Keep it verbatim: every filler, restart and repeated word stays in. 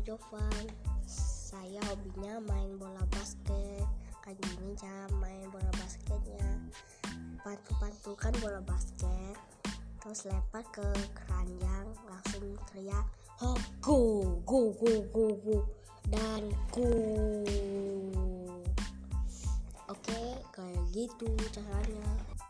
Jovan. Saya hobinya main bola basket. Kan gini cara main bola basketnya. Pantul-pantulkan bola basket, terus lempar ke keranjang, langsung teriak, "Ho, go, go, go, go, go," dan go. Oke, kayak gitu caranya.